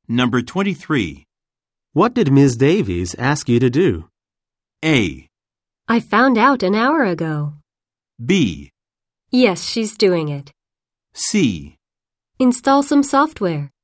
Number 23. What did Ms. Davies ask you to do? A. I found out an hour ago. B. Yes, she's doing it. C. Install some software.